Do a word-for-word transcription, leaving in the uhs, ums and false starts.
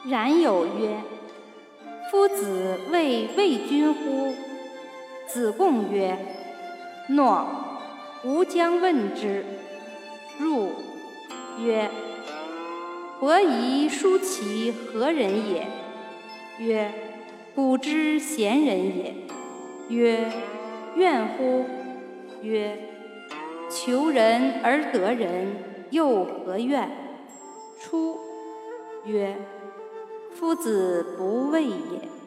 冉有曰：夫子谓魏君乎？子贡曰：诺，吾将问之。入，曰：伯夷叔齐何人也？曰：古之贤人也。曰：怨乎？曰：求人而得人，又何怨？出，曰：夫子不畏也。